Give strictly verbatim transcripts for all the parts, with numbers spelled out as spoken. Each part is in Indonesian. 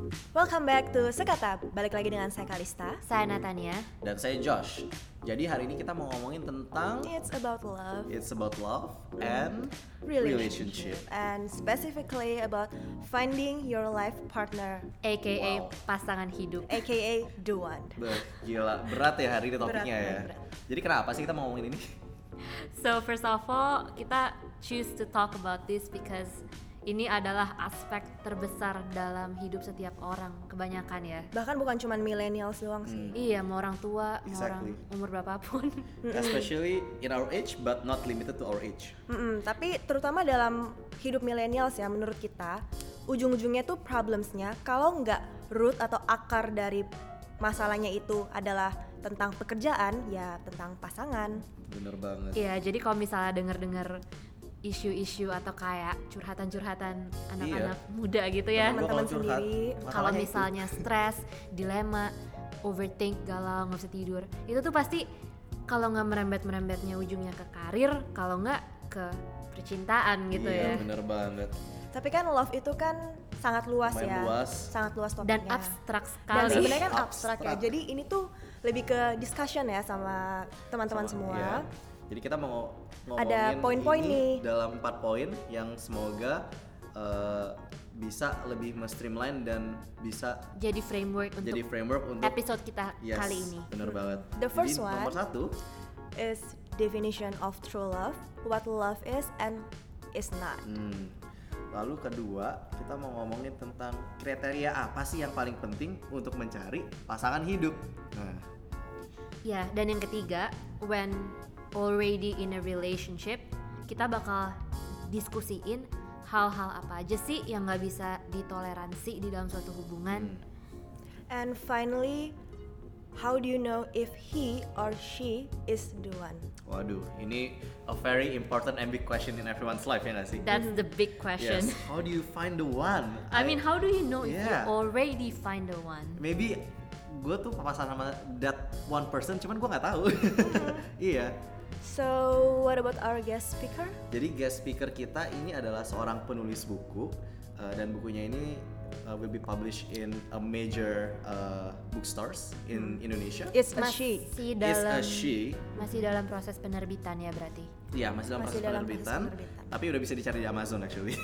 Welcome back to Sekata. Balik lagi dengan saya Kalista. Saya Natania. Dan saya Josh. Jadi hari ini kita mau ngomongin tentang It's about love. It's about love and relationship. relationship. And specifically about finding your life partner, A K A Wow. pasangan hidup. aka the one. Beuh, gila, berat ya hari ini topiknya Berat, ya. berat, Jadi kenapa sih kita mau ngomongin ini? So first of all, kita choose to talk about this because ini adalah aspek terbesar dalam hidup setiap orang, kebanyakan ya. Bahkan bukan cuma millennials doang sih. Iya, mau orang tua, mau orang Exactly. umur berapapun. Especially in our age but not limited to our age. Mm-mm, tapi terutama dalam hidup millennials ya, menurut kita ujung-ujungnya tuh problemsnya kalau nggak root atau akar dari masalahnya itu adalah tentang pekerjaan, ya tentang pasangan. Bener banget. Iya, jadi kalau misalnya denger-denger isu-isu atau kayak curhatan-curhatan anak-anak muda gitu ya. Gua Teman-teman kalau curhat, sendiri. Kalau masalahnya itu. misalnya stres, dilema, overthink, galau, nggak bisa tidur, itu tuh pasti kalau nggak merembet-merembetnya ujungnya ke karir, kalau nggak ke percintaan gitu Iya, ya. bener banget. Tapi kan love itu kan sangat luas Lumayan ya. luas. Sangat luas Dan topiknya. abstrak Dan sekali. sebenarnya kan abstrak ya. Abstrak. Jadi ini tuh lebih ke discussion ya sama teman-teman Sama- semua. iya. Jadi kita mau ngomongin Ada poin-poin ini nih. dalam empat poin yang semoga uh, bisa lebih streamline dan bisa Jadi framework untuk jadi framework untuk episode kita Yes, kali ini. bener banget. The first Jadi, one. nomor satu, Is definition of true love, what love is and is not. hmm, lalu kedua kita mau ngomongin tentang kriteria apa sih yang paling penting untuk mencari pasangan hidup. Nah, Ya, dan yang ketiga, when already in a relationship, kita bakal diskusiin hal-hal apa aja sih yang nggak bisa ditoleransi di dalam suatu hubungan. Hmm. And finally, how do you know if he or she is the one? waduh, ini a very important and big question in everyone's life ya nggak sih? That's the big question. Yes. How do you find the one? I mean, how do you know if you Yeah. already find the one? Maybe gue tuh papasan sama that one person, cuman gue nggak tahu. Iya. So, what about our guest speaker? Jadi guest speaker kita ini adalah seorang penulis buku uh, dan bukunya ini uh, will be published in a major uh, bookstores in Indonesia. It's a she. Masih Is dalam a she. masih dalam proses penerbitan ya berarti. Iya, masih dalam Masih proses dalam penerbitan, proses penerbitan. tapi udah bisa dicari di Amazon actually.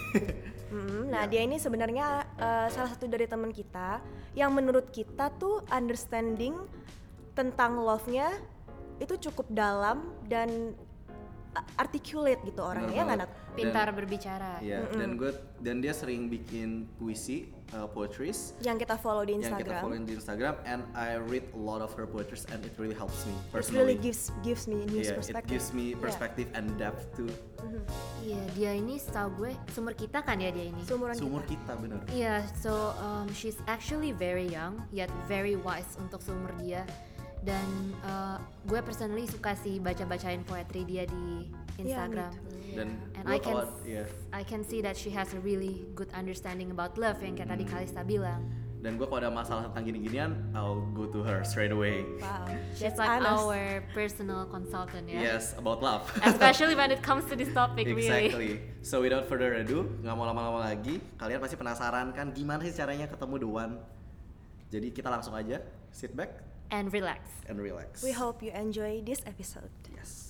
Mm, nah, Ya. dia ini sebenarnya uh, salah satu dari teman kita yang menurut kita tuh understanding tentang love-nya itu cukup dalam dan uh, articulate gitu orangnya, Bener ya nggak banget. Nat? Pintar Dan- berbicara. Iya, dan gue dan dia sering bikin puisi, uh, poetries Yang kita follow di yang kita Instagram. follow di Instagram, and I read a lot of her poetries and it really helps me It personally. really gives gives me news Yeah, perspective. it gives me Yeah. perspective and depth too. Iya, dia ini setahu gue sumber kita kan ya dia ini. Seumuran Seumur kita. kita bener. Iya, so um, she's actually very young yet very wise untuk seumur dia. Dan uh, gue personally suka sih baca-bacain poetry dia di Yeah, me Instagram. too. Dan And gua I can kalau- iya. I can see that she has a really good understanding about love yang kayak tadi Kalista bilang. Dan gue kalau ada masalah tentang gini-ginian, I'll go to her straight away. Wow. She's That's like honest. our personal consultant ya. Yes, about love. Especially when it comes to this topic really. Exactly. So without further ado, nggak mau lama-lama lagi. Kalian pasti penasaran kan gimana sih caranya ketemu the one? Jadi kita langsung aja sit back And relax. and relax. We hope you enjoy this episode. Yes.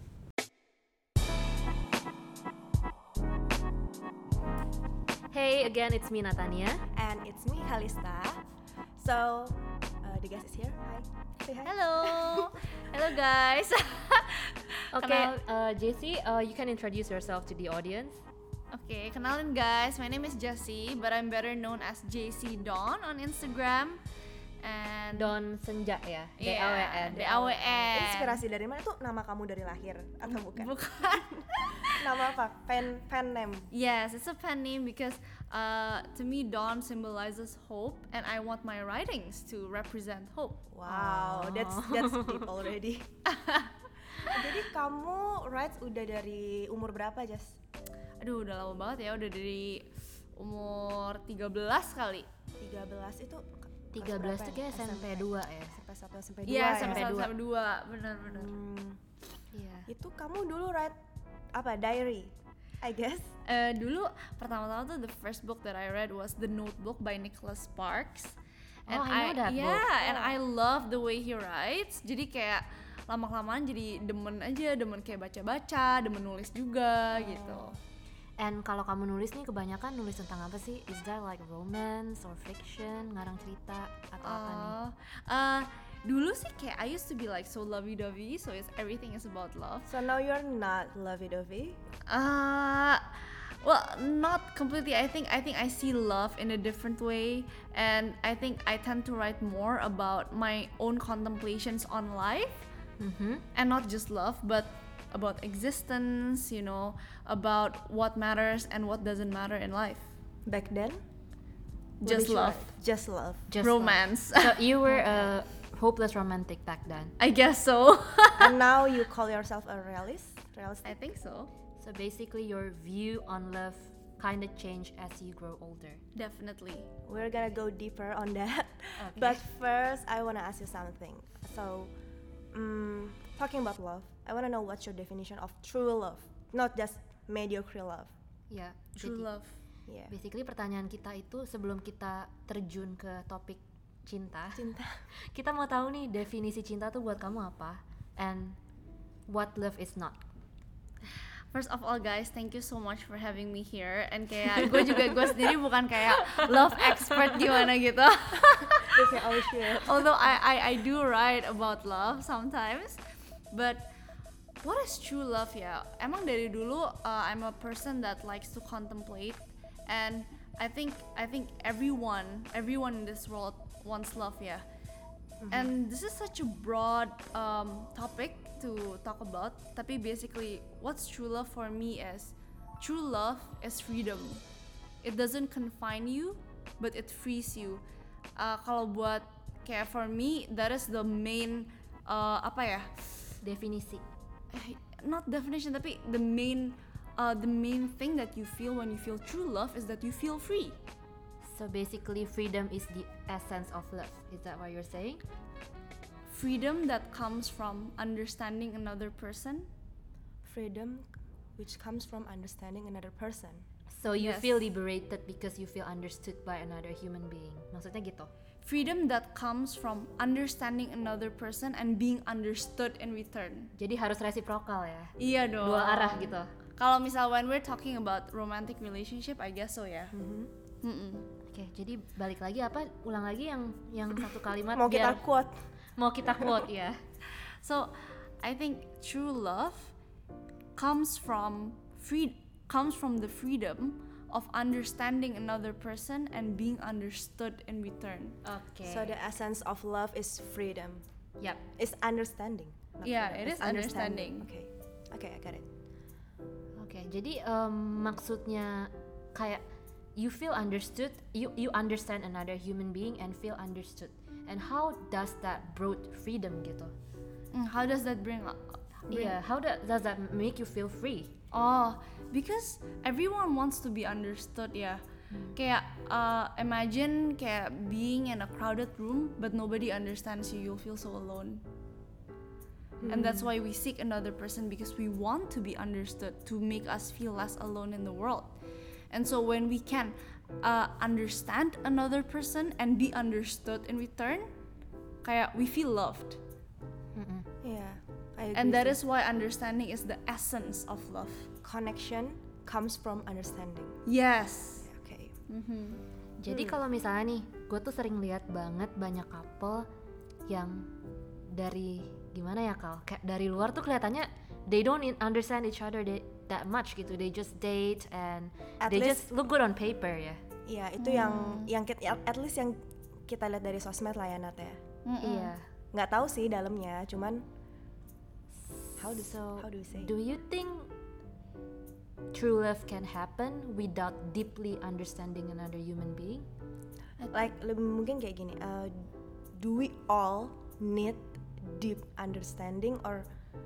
Hey, again it's me Natania. And it's me, Kalista. So, uh, the guest is here. Hi. Say hi. Hello, hello guys. Okay, Kenal- uh, J C, uh, you can introduce yourself to the audience. Oke, kenalin guys. My name is Jessie, but I'm better known as J C Dawn on Instagram. And Don Senja ya, D A W Yeah, N. D A W N. Inspirasi dari mana tuh? Nama kamu dari lahir atau bukan? Bukan. Nama apa? Pen pen name. Yes, it's a pen name because uh, to me Dawn symbolizes hope, and I want my writings to represent hope. Wow, that's that's deep already. Jadi kamu writes udah dari umur berapa, Jas? Aduh, udah lama banget ya, udah dari umur tiga belas kali. tiga belas itu tiga belas tuh kayak S M P dua ya. S M P satu, S M P dua Iya, ya? sampai dua. sampai dua, benar-benar. Hmm, Iya. itu kamu dulu write apa? Diary? I guess. Uh, dulu pertama-tama tuh the first book that I read was The Notebook by Nicholas Sparks. Oh, I know that yeah, book. and I love the way he writes. Jadi kayak lama-kelamaan jadi demen aja, demen kayak baca-baca, demen nulis juga gitu. And kalau kamu nulis nih kebanyakan nulis tentang apa sih? Is there like romance or fiction, ngarang cerita atau apa nih? Uh, uh, dulu sih kayak I used to be like so lovey-dovey, so it's everything is about love. So now you're not lovey-dovey? Uh, well, not completely. I think I think I see love in a different way, and I think I tend to write more about my own contemplations on life, Mhm. and not just love, but about existence. You know, about what matters and what doesn't matter in life. Back then? What Just did you love. write? Just love. Just Romance. love. So you were a hopeless romantic back then. I guess so. And now you call yourself a realist? Realistic? I think so. So basically your view on love kind of change as you grow older. Definitely. We're gonna go deeper on that. Okay. But first, I wanna ask you something. So, um, talking about love, I wanna know what's your definition of true love, not just mediocre love. Ya, True jadi love. Yeah. basically pertanyaan kita itu sebelum kita terjun ke topik cinta, Cinta. kita mau tahu nih definisi cinta tuh buat kamu apa and what love is not. First of all guys, thank you so much for having me here. And kayak gue juga gue sendiri bukan kayak love expert gimana gitu. Okay, oh shit. Although I, I I do write about love sometimes, but what is true love ya? Emang dari dulu uh, I'm a person that likes to contemplate, and I think I think everyone everyone in this world wants love ya. And this is such a broad um, topic to talk about. Tapi basically, what's true love for me is true love is freedom. It doesn't confine you, but it frees you. Uh, kalau buat kayak for me, that is the main uh, apa ya? Definisi. Eh, Not definition, tapi the main uh, the main thing that you feel when you feel true love is that you feel free. So basically freedom is the essence of love. Is that what you're saying? Freedom that comes from understanding another person. Freedom, which comes from understanding another person. So you Yes. feel liberated because you feel understood by another human being. Maksudnya gitu. Freedom that comes from understanding another person and being understood in return. Jadi harus resiprokal ya. Iya dong. Dua arah gitu. Kalau misal when we're talking about romantic relationship, I guess so ya. Mm-mm. Oke, jadi balik lagi apa? Ulang lagi yang yang satu kalimat Mau kita biar- quote. mau kita quote ya. So I think true love comes from free comes from the freedom of understanding another person and being understood in return. Oke. So the essence of love is freedom. Yap. It's understanding. not Yeah, freedom. it It's is understanding. Okay. Okay, I got it. Oke, jadi em, maksudnya kayak you feel understood, you you understand another human being and feel understood. And how does that broad freedom gitu? Mm, how does that bring up? Iya, how da- does that make you feel free? Oh, because everyone wants to be understood ya. Kayak uh, imagine kayak being in a crowded room but nobody understands you, you'll feel so alone. And that's why we seek another person, because we want to be understood, to make us feel less alone in the world. And so when we can uh, understand another person and be understood in return, kayak we feel loved. Mm-mm. Yeah, I agree. And that too. is why understanding is the essence of love. Connection comes from understanding. Yes. Okay. Jadi kalau misalnya nih, gue tuh sering lihat banget banyak couple yang dari gimana ya Kal? Kayak dari luar tuh kelihatannya they don't in- understand each other they, that much gitu. They just date and At they least- just look good on paper ya. Iya, itu yang yang kita, at least yang kita lihat dari sosmed lah ya Nat ya. Iya. Nggak tahu sih dalamnya, cuman how do So, how do we say? do you think true love can happen without deeply understanding another human being? Like lebih mungkin kayak gini. Uh, do we all need deep understanding or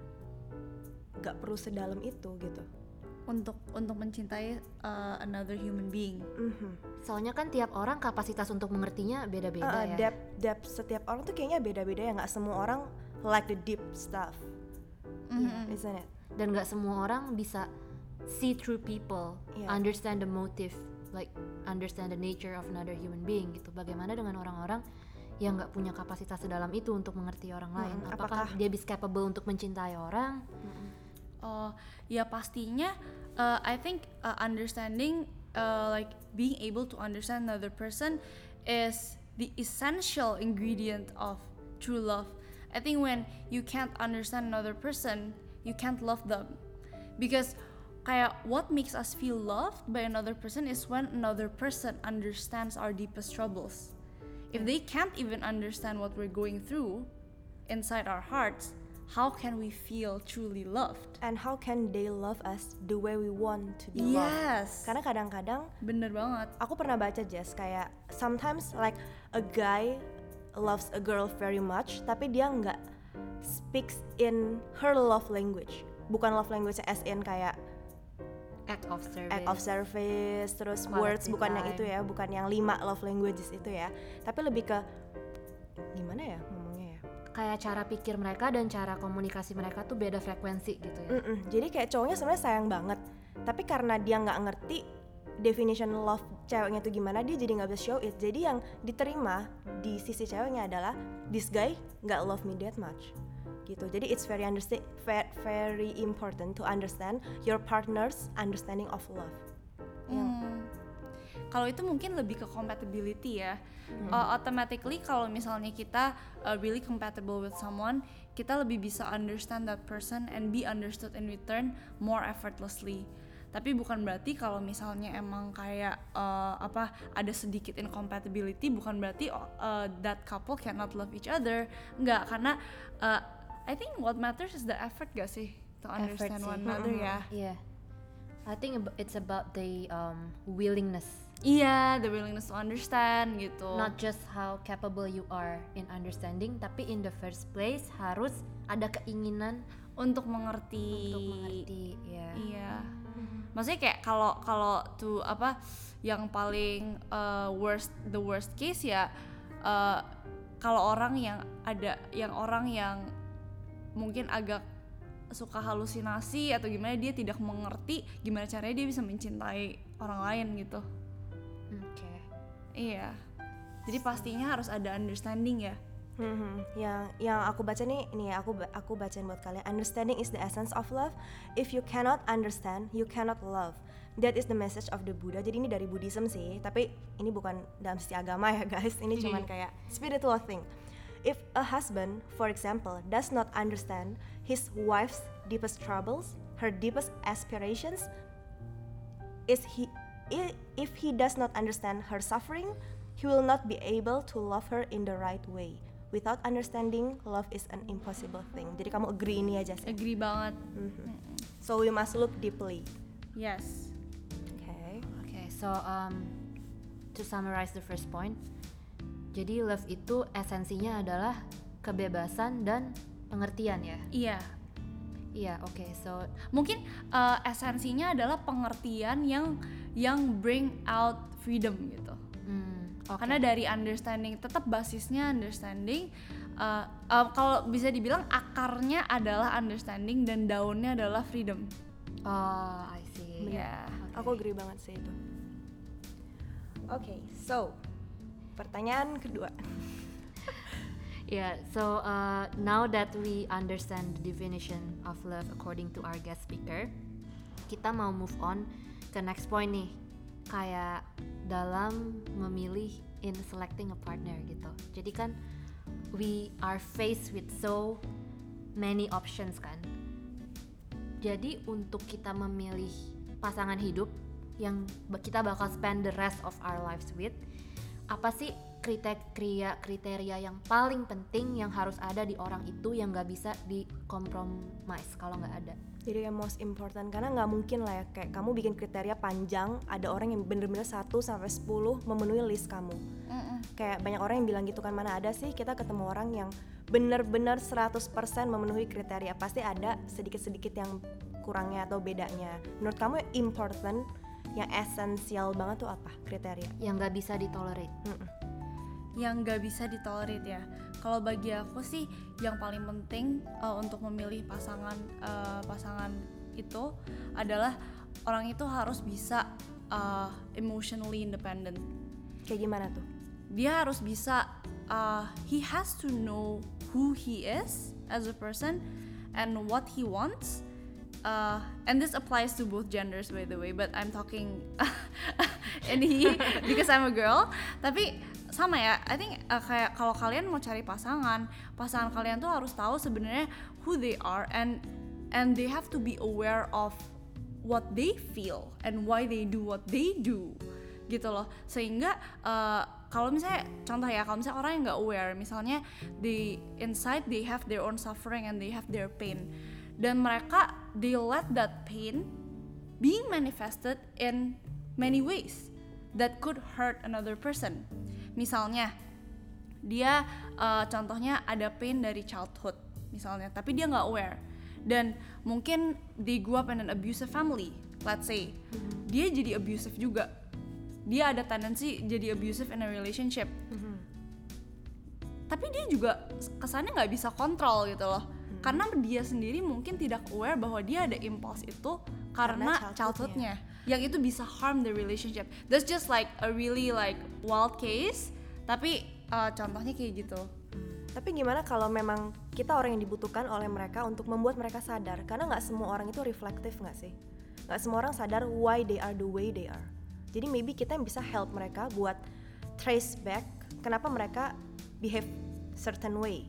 nggak perlu sedalam itu gitu? Untuk untuk mencintai uh, another human being. Mhm. Soalnya kan tiap orang kapasitas untuk mengertinya beda-beda Uh, ya. depth depth setiap orang tuh kayaknya beda-beda ya, nggak semua orang like the deep stuff, Mhm. isn't it? Dan nggak semua orang bisa see through people, Yeah. understand the motive, like understand the nature of another human being gitu. Bagaimana dengan orang-orang yang nggak punya kapasitas sedalam itu untuk mengerti orang lain? Mm-mm. Apakah, Apakah- dia bisa capable untuk mencintai orang? Oh, ya pastinya uh, I think uh, understanding uh, like being able to understand another person is the essential ingredient of true love. I think when you can't understand another person, you can't love them. Because kayak what makes us feel loved by another person is when another person understands our deepest troubles. If they can't even understand what we're going through inside our hearts, how can we feel truly loved? And how can they love us the way we want to be loved? Yes. Karena kadang-kadang Bener banget. aku pernah baca Jess kayak sometimes like a guy loves a girl very much tapi dia nggak speaks in her love language, bukan love language as in kayak Act of service. act of service terus Quality words, bukan yang time. itu ya, bukan yang lima love languages itu ya, tapi lebih ke gimana ya ngomongnya ya. Kayak cara pikir mereka dan cara komunikasi mereka tuh beda frekuensi gitu ya. Mm-mm. Jadi kayak cowoknya sebenarnya sayang banget, tapi karena dia nggak ngerti definition love ceweknya itu gimana, dia jadi nggak bisa show it. Jadi yang diterima di sisi ceweknya adalah this guy nggak love me that much, gitu. Jadi it's very understand, very important to understand your partner's understanding of love. Hmm. Kalau itu mungkin lebih ke compatibility ya. Uh, automatically kalau misalnya kita uh, really compatible with someone, kita lebih bisa understand that person and be understood in return more effortlessly. Tapi bukan berarti kalau misalnya emang kayak uh, apa ada sedikit incompatibility, bukan berarti uh, that couple cannot love each other. Enggak, karena uh, I think what matters is the effort gak sih to understand sih. one another ya. Iya. I think ab- it's about the um, willingness, Iya, the willingness to understand gitu. not just how capable you are in understanding, tapi in the first place harus ada keinginan untuk mengerti. untuk mengerti. Ya. Iya. Maksudnya kayak kalau kalau tuh apa yang paling uh, worst the worst case ya uh, kalau orang yang ada yang orang yang mungkin agak suka halusinasi atau gimana, dia tidak mengerti gimana caranya dia bisa mencintai orang lain gitu. Oke. Iya. Jadi pastinya harus ada understanding ya. Hmm, yang yang aku baca nih, ini ya aku ba- aku bacain buat kalian. Understanding is the essence of love. If you cannot understand, you cannot love. That is the message of the Buddha. Jadi ini dari Buddhism sih, tapi ini bukan dalam sisi agama ya guys. Ini cuman kayak spiritual thing. If a husband, for example, does not understand his wife's deepest troubles, her deepest aspirations, is he i- if he does not understand her suffering, he will not be able to love her in the right way. Without understanding, love is an impossible thing. Jadi kamu agree ini aja sih. Agree banget. So we must look deeply. Yes. Okay. Okay, so um, to summarize the first point, jadi love itu esensinya adalah kebebasan dan pengertian ya. Iya. Iya, oke. So Mungkin uh, esensinya adalah pengertian yang yang bring out freedom gitu. hmm, oke. Karena dari understanding, tetap basisnya understanding. Uh, uh, kalau bisa dibilang akarnya adalah understanding dan daunnya adalah freedom. Oh, I see. Iya. Aku agree banget sih itu. Oke, so pertanyaan kedua. Yeah, so uh, now that we understand the definition of love according to our guest speaker, kita mau move on ke next point nih, kayak dalam memilih in selecting a partner gitu. Jadi kan we are faced with so many options kan. Jadi untuk kita memilih pasangan hidup yang kita bakal spend the rest of our lives with, apa sih kriteria kriteria yang paling penting yang harus ada di orang itu yang nggak bisa dikompromis kalau nggak ada? Jadi yang most important, karena nggak mungkin lah ya kayak kamu bikin kriteria panjang, ada orang yang bener-bener satu sampai sepuluh memenuhi list kamu. Kayak banyak orang yang bilang gitu kan, mana ada sih kita ketemu orang yang bener-bener seratus persen memenuhi kriteria, pasti ada sedikit-sedikit yang kurangnya atau bedanya. Menurut kamu yang important, yang esensial banget tuh apa kriteria? Yang nggak bisa ditolerate. Mm-mm. Yang nggak bisa ditolerir ya. Kalau bagi aku sih yang paling penting uh, untuk memilih pasangan uh, pasangan itu adalah orang itu harus bisa uh, emotionally independent. Kayak gimana tuh? Dia harus bisa, uh, he has to know who he is as a person and what he wants. Uh, and this applies to both genders by the way, but I'm talking in he because I'm a girl. Tapi sama ya, I think uh, kayak kalau kalian mau cari pasangan, pasangan kalian tuh harus tahu sebenarnya who they are and and they have to be aware of what they feel and why they do what they do gitu loh. Sehingga uh, kalau misalnya contoh ya, kalau misalnya orang yang nggak aware, misalnya di inside they have their own suffering and they have their pain, dan mereka they let that pain being manifested in many ways that could hurt another person. Misalnya dia uh, contohnya ada pain dari childhood misalnya, tapi dia nggak aware, dan mungkin they grew up in an abusive family, let's say, mm-hmm. dia jadi abusive juga, dia ada tendensi jadi abusive in a relationship, mm-hmm. tapi dia juga kesannya nggak bisa kontrol gitu loh, mm-hmm. karena dia sendiri mungkin tidak aware bahwa dia ada impulse itu karena, karena childhoodnya, yang itu bisa harm the relationship. That's just like a really like wild case, tapi uh, contohnya kayak gitu. Tapi gimana kalau memang kita orang yang dibutuhkan oleh mereka untuk membuat mereka sadar? Karena nggak semua orang itu reflektif nggak sih? Nggak semua orang sadar why they are the way they are. Jadi maybe kita yang bisa help mereka buat trace back kenapa mereka behave certain way.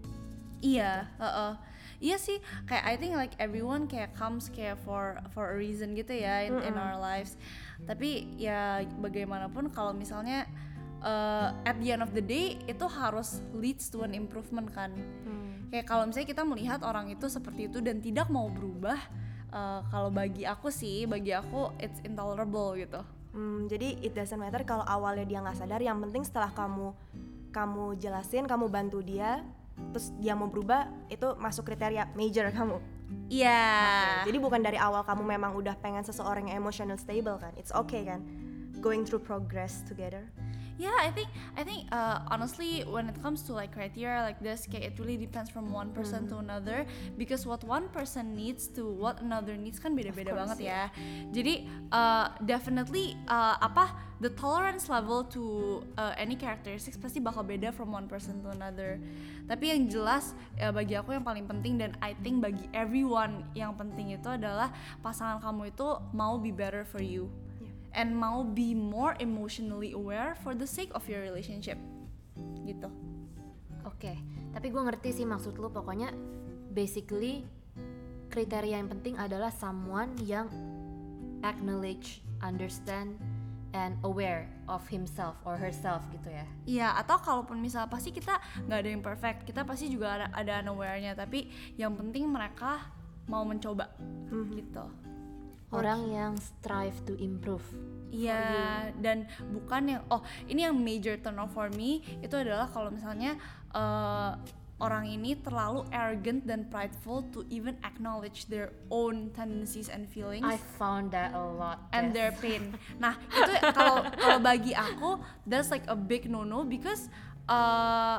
Iya, uh-uh. Iya sih, kayak I think like everyone kayak comes kayak for for a reason gitu ya in, in our lives. Tapi ya bagaimanapun kalau misalnya Uh, at the end of the day itu harus leads to an improvement kan. Hmm. Kayak kalau misalnya kita melihat orang itu seperti itu dan tidak mau berubah, uh, kalau bagi aku sih, bagi aku it's intolerable gitu. Hmm, jadi it doesn't matter kalau awalnya dia nggak sadar, yang penting setelah kamu kamu jelasin, kamu bantu dia, terus dia mau berubah, itu masuk kriteria major kamu. Iya. Yeah. Okay. Jadi bukan dari awal kamu memang udah pengen seseorang yang emotional stable kan? It's okay kan? Going through progress together. Yeah, I think I think uh, honestly when it comes to like criteria like this, kayak it really depends from one person mm. to another, because what one person needs to what another needs kan beda-beda banget ya. Jadi uh, definitely uh, apa the tolerance level to uh, any characteristics pasti bakal beda from one person to another. Tapi yang jelas ya, bagi aku yang paling penting dan I think bagi everyone yang penting itu adalah pasangan kamu itu mau be better for you. And mau be more emotionally aware for the sake of your relationship gitu. Oke, okay. Tapi gue ngerti sih maksud lu. Pokoknya basically kriteria yang penting adalah someone yang acknowledge, understand, and aware of himself or herself gitu ya. Iya, atau kalaupun misal pasti kita nggak ada yang perfect, kita pasti juga ada ada unaware-nya, tapi yang penting mereka mau mencoba hmm. gitu. Orang yang strive to improve. Iya, dan bukan yang oh ini yang major turn off for me itu adalah kalau misalnya uh, orang ini terlalu arrogant dan prideful to even acknowledge their own tendencies and feelings. I found that a lot. And yes. their pain. Nah itu kalau kalau bagi aku that's like a big no no, because uh,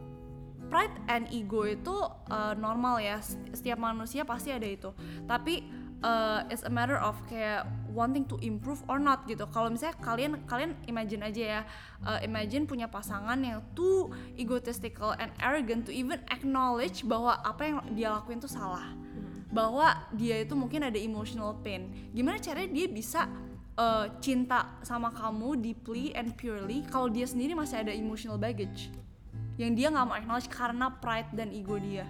pride and ego itu uh, normal ya, setiap manusia pasti ada itu. Tapi Uh, it's a matter of kayak wanting to improve or not gitu. Kalau misalnya kalian kalian imagine aja ya, uh, imagine punya pasangan yang too egotistical and arrogant to even acknowledge bahwa apa yang dia lakuin tuh salah, hmm. bahwa dia itu mungkin ada emotional pain. Gimana caranya dia bisa uh, cinta sama kamu deeply and purely kalau dia sendiri masih ada emotional baggage yang dia nggak mau acknowledge karena pride dan ego dia.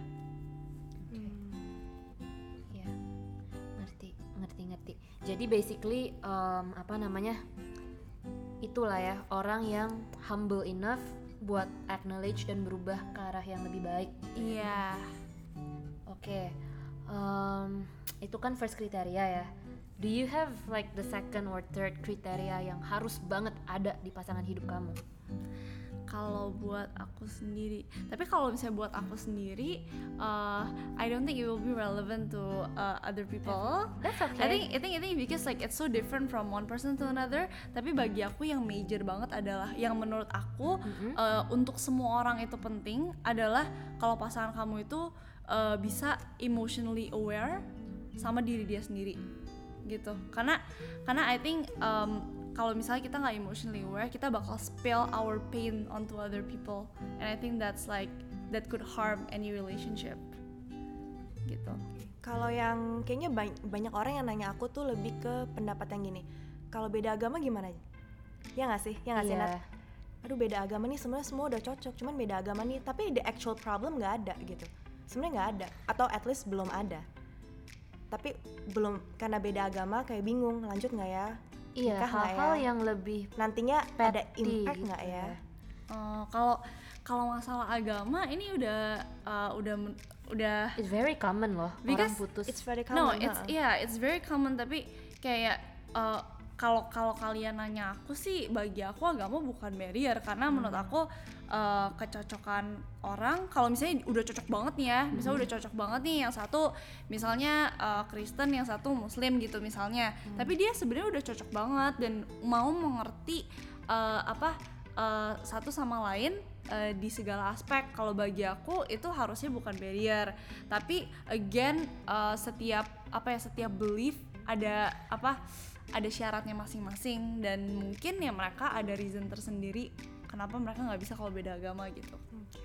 Jadi basically um, apa namanya itulah ya, orang yang humble enough buat acknowledge dan berubah ke arah yang lebih baik. Iya. Yeah. Oke, okay. um, itu kan first kriteria ya. Do you have like the second or third kriteria yang harus banget ada di pasangan hidup kamu? Kalau buat aku sendiri, tapi kalau misalnya buat aku sendiri, uh, I don't think it will be relevant to uh, other people. That's okay. I think, I think, I think because like it's so different from one person to another. Tapi bagi aku yang major banget adalah, yang menurut aku mm-hmm. uh, untuk semua orang itu penting adalah kalau pasangan kamu itu uh, bisa emotionally aware sama diri dia sendiri. gitu. Karena karena I think um, kalau misalnya kita nggak emotionally aware, kita bakal spill our pain onto other people, and I think that's like that could harm any relationship gitu. Kalau yang kayaknya ba- banyak orang yang nanya aku tuh lebih ke pendapat yang gini, kalau beda agama gimana? Ya nggak sih, ya nggak sih Iya. Nat? Aduh beda agama nih sebenarnya semua udah cocok, cuman beda agama nih, tapi the actual problem nggak ada gitu. Sebenarnya nggak ada, atau at least belum ada. Tapi belum, karena beda agama kayak bingung lanjut nggak ya? Iya, Nikah nggak hal-hal ya? yang lebih Nantinya ada petty impact gitu nggak ya? Uh, kalau kalau masalah agama ini udah uh, udah men- udah It's very common loh, Because orang putus. It's very no, common. it's ha. yeah, it's very common, tapi kayak uh, kalau kalau kalian nanya aku sih, bagi aku agama bukan barrier, karena Hmm. menurut aku uh, kecocokan orang, kalau misalnya udah cocok banget nih ya, misalnya Hmm. udah cocok banget nih, yang satu misalnya uh, Kristen, yang satu Muslim gitu misalnya, Hmm. tapi dia sebenarnya udah cocok banget dan mau mengerti uh, apa uh, satu sama lain uh, di segala aspek. Kalau bagi aku itu harusnya bukan barrier, tapi again uh, setiap apa ya setiap belief ada apa ada syaratnya masing-masing, dan mungkin ya mereka ada reason tersendiri kenapa mereka nggak bisa kalau beda agama gitu. Oke.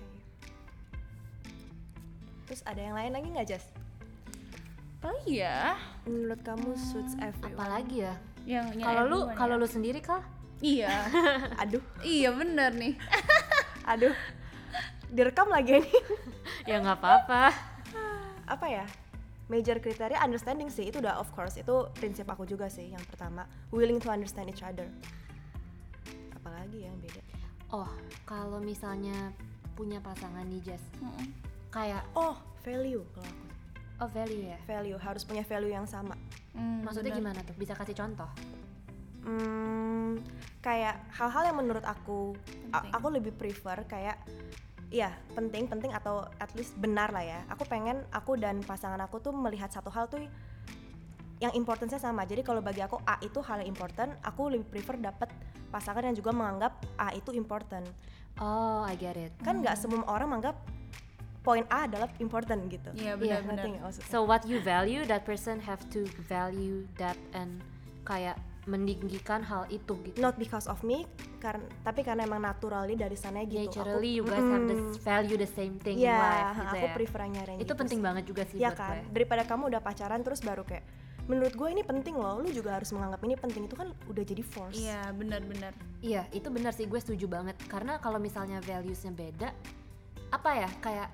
Terus ada yang lain lagi nggak, Jas? Apalagi ya Menurut kamu suits everyone? Apalagi ya? yang yang Kalau lu everyone kalau ya. lu sendiri Kal? Iya Aduh, iya bener nih. aduh. Direkam lagi ini. Ya nggak apa-apa. Apa ya? Major kriteria understanding sih, itu udah of course, itu prinsip aku juga sih yang pertama, willing to understand each other. Apalagi yang beda? Oh, kalau misalnya punya pasangan nih Jess, Mm-mm. kayak Oh, value kalau aku. oh value ya. Value harus punya value yang sama. Hmm, Maksudnya bener. gimana tuh? Bisa kasih contoh? Hmm, kayak hal-hal yang menurut aku a- Penting. aku lebih prefer kayak iya penting penting atau at least benar lah ya. Aku pengen aku dan pasangan aku tuh melihat satu hal tuh yang importance-nya sama. Jadi kalau bagi aku A itu hal yang important, aku lebih prefer dapet pasangan yang juga menganggap A itu important. Oh, I get it. Kan nggak semua orang menganggap poin A adalah important gitu. Iya Iya, benar-benar. Ngerti nggak maksudnya? So what you value, that person have to value that and kayak meninggikan hal itu gitu. Not because of me, karena tapi karena emang naturally dari sana gitu. Naturally you Aku- guys have the Mm-mm. s- value the same thing Iya, in life gitu aku ya. prefernya yang Itu gitu penting sih. banget juga sih Iya buat kan, gue. daripada kamu udah pacaran terus baru kayak menurut gue ini penting loh, lu juga harus menganggap ini penting, itu kan udah jadi force. Iya benar-benar. Iya, itu benar sih, gue setuju banget. Karena kalau misalnya values-nya beda, apa ya, kayak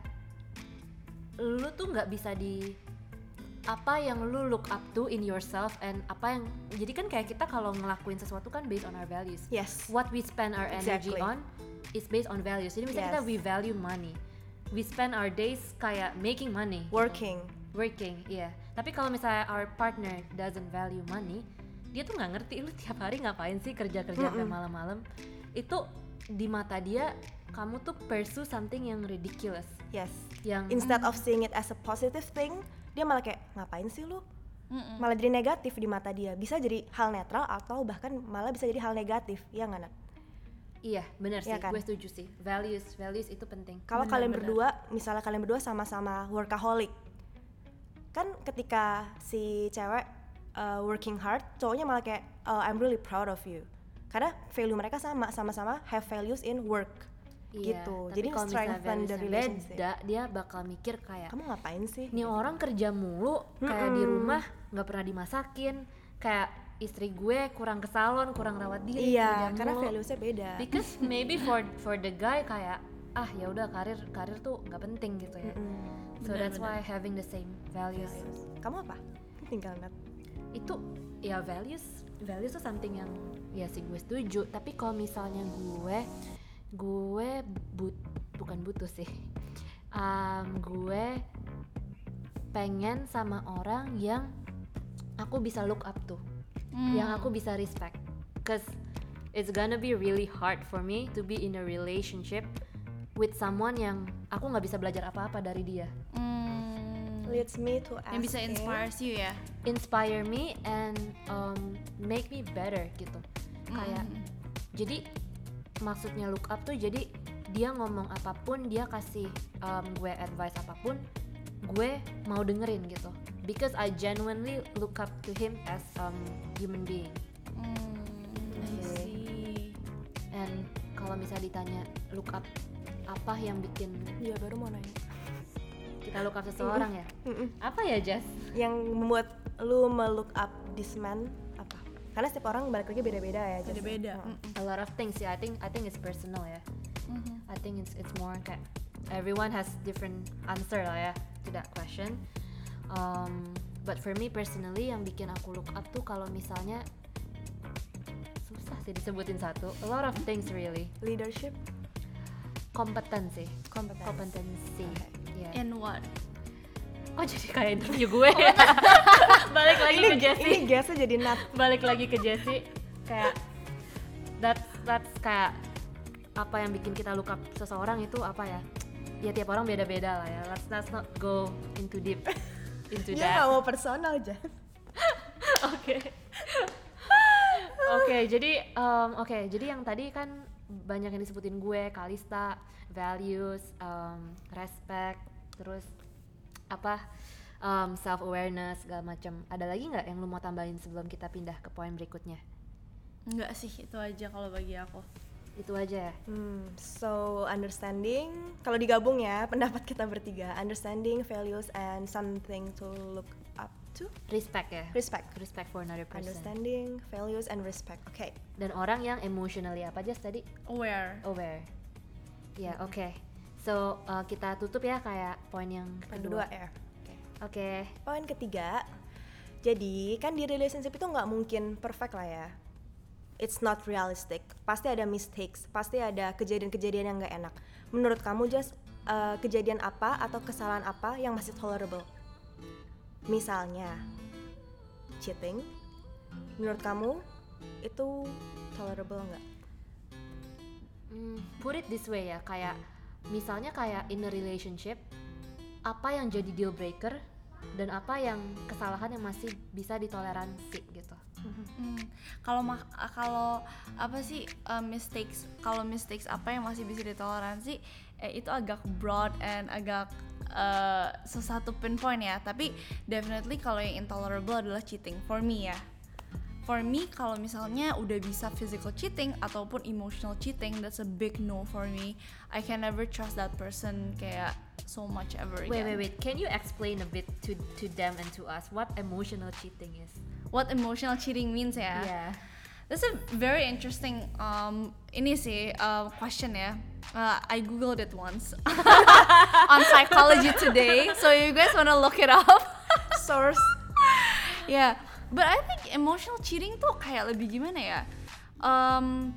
lu tuh nggak bisa di apa yang lu look up to in yourself and apa yang, jadi kan kayak kita kalau ngelakuin sesuatu kan based on our values. Yes. What we spend our energy Exactly. on is based on values. Jadi misalnya kita Yes. we value money, we spend our days kayak making money, Working. working, iya. Tapi kalau misalnya our partner doesn't value money, dia tuh nggak ngerti lu tiap hari ngapain sih kerja-kerja sampai Mm-mm. malam-malam. Itu di mata dia kamu tuh pursue something yang ridiculous, Yes. yang Instead of seeing it as a positive thing, dia malah kayak ngapain sih lu? Mm-mm. Malah jadi negatif di mata dia. Bisa jadi hal netral atau bahkan malah bisa jadi hal negatif. Iya nggak, Nat? iya benar sih, Iya kan? gue setuju sih. Values, values itu penting. Kalau Benar, kalian benar. berdua, misalnya kalian berdua sama-sama workaholic, kan ketika si cewek uh, working hard, cowoknya malah kayak uh, I'm really proud of you, karena value mereka sama, sama-sama have values in work. Iya, gitu. tapi Jadi kalau misalnya strengthen the values-nya relationship. beda, dia bakal mikir kayak Kamu ngapain sih? nih orang kerja mulu, kayak di Mm-mm. rumah nggak pernah dimasakin, kayak istri gue kurang ke salon, kurang rawat diri, Iya, kerja karena mulu. valuesnya beda. Because maybe for for the guy kayak ah ya udah karir karir tuh nggak penting gitu ya. Mm-mm. So that's Benar-benar. why having the same values Values. Kamu apa? Tinggal Nat. itu ya values values tuh something yang ya sih gue setuju. Tapi kalau misalnya gue gue but bukan butuh sih. Um, gue pengen sama orang yang aku bisa look up to, Hmm. yang aku bisa respect. Cause it's gonna be really hard for me to be in a relationship with someone yang aku nggak bisa belajar apa-apa dari dia. Hmm. Leads me to asking. Yang bisa inspires you ya. Inspire me and um, make me better gitu. Kayak Mm. jadi maksudnya look up tuh jadi dia ngomong apapun, dia kasih um, gue advice apapun, gue mau dengerin gitu. because I genuinely look up to him as um human being. Hmm, I Okay. see. And kalau misalnya ditanya look up apa yang bikin Iya baru mau nanya. kita look up seseorang ya? Mm-mm. Apa ya, Jess? Yang membuat lu melook up this man apa? Karena setiap orang balik lagi beda-beda ya. Jess. Beda-beda. Oh. Mm-mm. A lot of things ya. I think I think it's personal ya. Mhm. I think it's it's more kayak everyone has different answer lah ya to that question. Um, but for me personally yang bikin aku look up tuh kalau misalnya susah sih disebutin satu. A lot of things really. Leadership, Kompetensi. kompetensi. Kompetensi. Yeah. In what? Kok jadi kayak interview gue ya? Balik lagi ke Jessie. Ini gasnya jadi nat. Balik lagi ke Jessie. Kayak that's that's kayak apa yang bikin kita look up seseorang itu apa ya? Ya tiap orang beda-beda lah ya. Let's, let's not go into deep into Ya that. nggak mau personal aja. Oke. Oke, jadi um, oke, jadi yang tadi kan banyak yang disebutin gue, Kalista, values, um, respect, terus apa um, self awareness segala macam. Ada lagi nggak yang lu mau tambahin sebelum kita pindah ke poin berikutnya? Enggak sih, itu aja kalau bagi aku. Itu aja ya. Hmm, so understanding, kalau digabung ya pendapat kita bertiga, understanding, values, and something to look up to. Respect ya. Respect. Respect for another person. Understanding, values, and respect. Oke. Dan orang yang emotionally apa aja tadi? Aware. Aware. Ya, oke. So uh, kita tutup ya kayak poin yang Poin kedua. kedua ya. Oke. Poin ketiga, jadi kan di relationship itu nggak mungkin perfect lah ya. It's not realistic. Pasti ada mistakes, pasti ada kejadian-kejadian yang nggak enak. Menurut kamu, Just, uh, kejadian apa atau kesalahan apa yang masih tolerable? Misalnya, cheating. Menurut kamu itu tolerable nggak? Hmm, put it this way ya, kayak misalnya kayak in a relationship, apa yang jadi deal breaker dan apa yang kesalahan yang masih bisa ditoleransi gitu. Hmm, kalau ma- kalau apa sih uh, mistakes kalau mistakes apa yang masih bisa ditoleransi eh, itu agak broad and agak uh, susah to pinpoint ya, tapi definitely kalau yang intolerable adalah cheating for me ya. For me kalau misalnya udah bisa physical cheating ataupun emotional cheating, that's a big no for me. I can never trust that person kayak so much ever again. Wait, wait, wait. Can you explain a bit to to them and to us what emotional cheating is? What emotional cheating means ya? Yeah. That's a very interesting um ini sih uh, question ya. Uh, I googled it once on Psychology Today, so you guys wanna look it up? Source. Yeah, but I think emotional cheating tuh kayak lebih gimana ya? Um,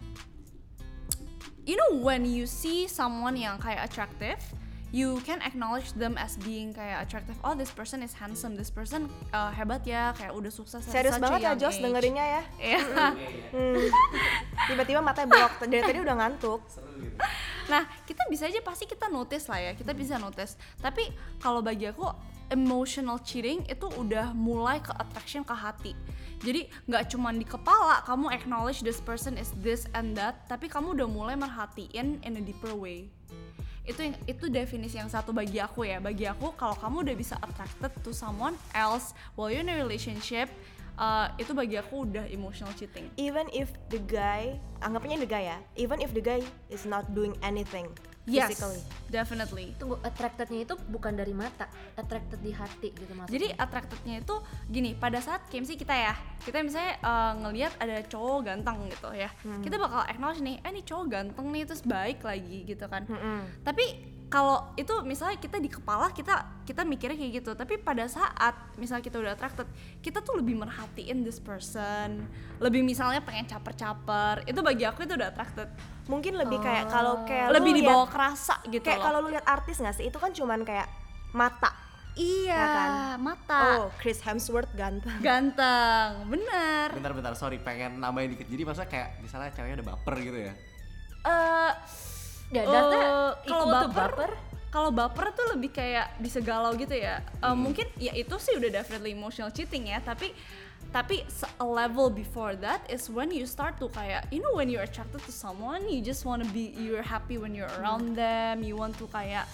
you know when you see someone yang kayak attractive, you can acknowledge them as being kayak attractive. Oh, this person is handsome, this person uh, hebat ya, kayak udah sukses. at Serius such a banget ya young Jos age. dengerinnya ya. Iya. Hmm. Tiba-tiba matanya belok, dari tadi udah ngantuk. Nah, kita bisa aja pasti kita notice lah ya, kita bisa notice. Tapi kalau bagi aku emotional cheating itu udah mulai ke attraction ke hati. Jadi nggak cuma di kepala kamu acknowledge this person is this and that, tapi kamu udah mulai merhatiin in a deeper way. Itu yang, itu definisi yang satu bagi aku ya. Bagi aku kalau kamu udah bisa attracted to someone else while you're in a relationship, uh, itu bagi aku udah emotional cheating. Even if the guy, anggapnya the guy ya, even if the guy is not doing anything Yes, physically. definitely. Tunggu, attractednya itu bukan dari mata, attracted di hati gitu maksudnya. Jadi attractednya itu gini, pada saat kayak misalnya kita ya, kita misalnya uh, ngelihat ada cowok ganteng gitu ya, Hmm. kita bakal acknowledge nih, eh nih cowok ganteng nih, terus baik lagi gitu kan. Mm-mm. Tapi kalau itu misalnya kita di kepala kita kita mikirnya kayak gitu, tapi pada saat misalnya kita udah attracted, kita tuh lebih merhatiin this person, lebih misalnya pengen caper-caper, itu bagi aku itu udah attracted. Mungkin lebih kayak kalau kayak Lebih lu dibawa liat- kerasa gitu kayak loh. kalau lu lihat artis nggak sih, itu kan cuman kayak mata. Iya, ya kan? mata. Oh, Chris Hemsworth ganteng. Ganteng, bener. Bentar-bentar, sorry, pengen nambahin dikit. Jadi maksudnya kayak misalnya ceweknya udah baper gitu ya. Eh, Ya, dasarnya Eh, kalau ikut tuh baper, baper. kalau baper tuh lebih kayak bisa galau gitu ya. Eh, Mungkin ya itu sih udah definitely emotional cheating ya. Tapi tapi se- a level before that is when you start to kayak, you know, when you're attracted to someone, you just wanna be, you're happy when you're around them, you want to kayak